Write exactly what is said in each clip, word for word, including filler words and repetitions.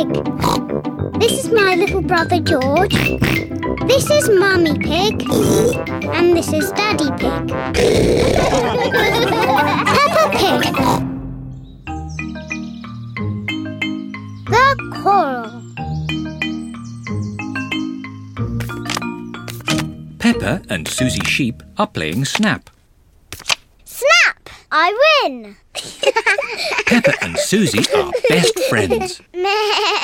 Pig. This is my little brother George. This is Mummy Pig. And this is Daddy Pig. Peppa Pig. The Quarrel. Peppa and Susie Sheep are playing Snap. Snap! I win! Peppa and Susie are best friends. Meh.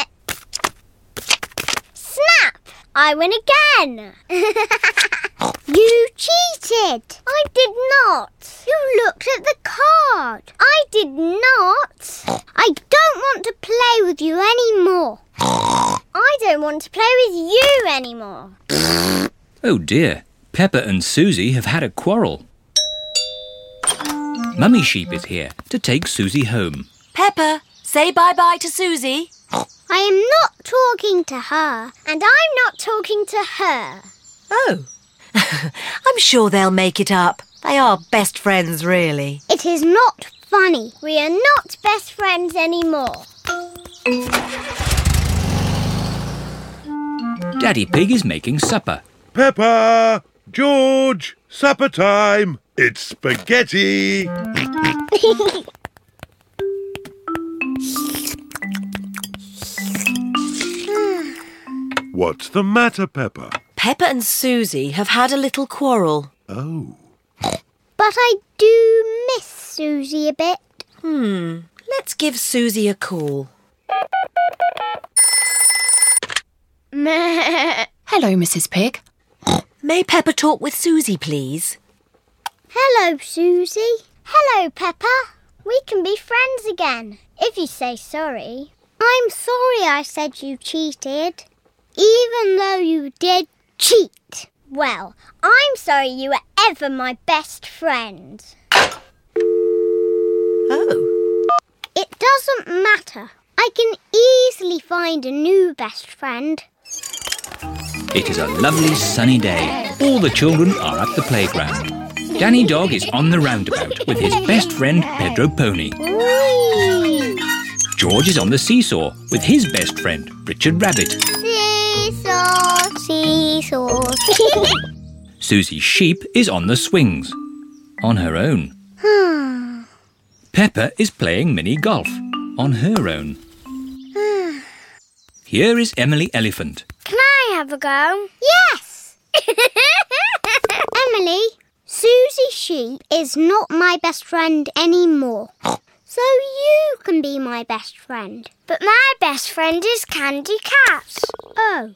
Snap! I win again! You cheated! I did not! You looked at the card! I did not! I don't want to play with you anymore! I don't want to play with you anymore! Oh dear, Peppa and Susie have had a quarrel. Mummy Sheep is here to take Susie home. Peppa, say bye-bye to Susie. I am not talking to her, and I'm not talking to her. Oh, I'm sure they'll make it up. They are best friends, really. It is not funny. We are not best friends anymore. Daddy Pig is making supper. Peppa! George! Supper time! It's spaghetti! What's the matter, Peppa? Peppa and Susie have had a little quarrel. Oh. But I do miss Susie a bit. Hmm, let's give Susie a call. Hello, Missus Pig. May Peppa talk with Susie, please? Hello, Susie. Hello, Peppa. We can be friends again, if you say sorry. I'm sorry I said you cheated, even though you did cheat. Well, I'm sorry you were ever my best friend. Oh. It doesn't matter. I can easily find a new best friend. It is a lovely sunny day. All the children are at the playground. Danny Dog is on the roundabout with his best friend Pedro Pony. Whee! George is on the seesaw with his best friend Richard Rabbit. Seesaw, seesaw. Susie Sheep is on the swings, on her own. Peppa is playing mini golf, on her own. Here is Emily Elephant. Can I have a go? Yes! Emily, Susie Sheep is not my best friend anymore. So you can be my best friend. But my best friend is Candy Cat. Oh.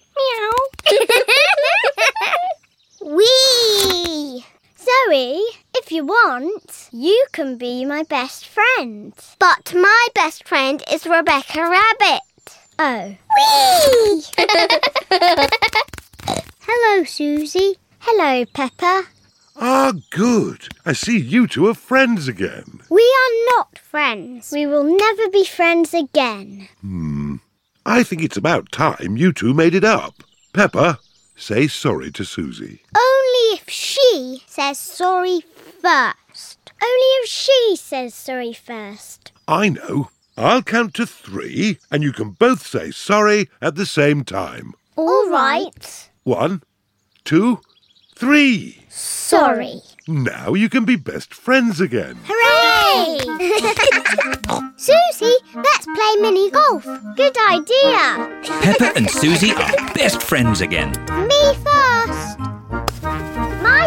Meow. Wee! Zoe, if you want, you can be my best friend. But my best friend is Rebecca Rabbit. Oh. Whee! Hello, Susie. Hello, Peppa. Ah, good. I see you two are friends again. We are not friends. We will never be friends again. Hmm. I think it's about time you two made it up. Peppa, say sorry to Susie. Only if she says sorry first. Only if she says sorry first. I know. I'll count to three, and you can both say sorry at the same time. All right. One, two, three. Sorry. Now you can be best friends again. Hooray! Susie, let's play mini golf. Good idea. Peppa and Susie are best friends again. Me first. My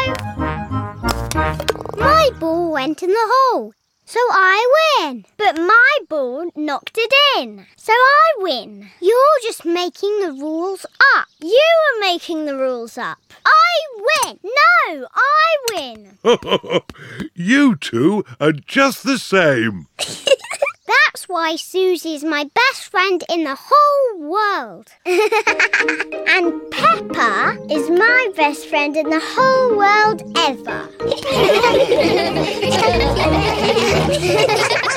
go. My ball went in the hole, so I win. But my ball knocked it in, so I win. You're just making the rules up. You are making the rules up. I win. No, I win. You two are just the same. That's why Susie's my best friend in the whole world. And Peppa is my best friend in the whole world ever.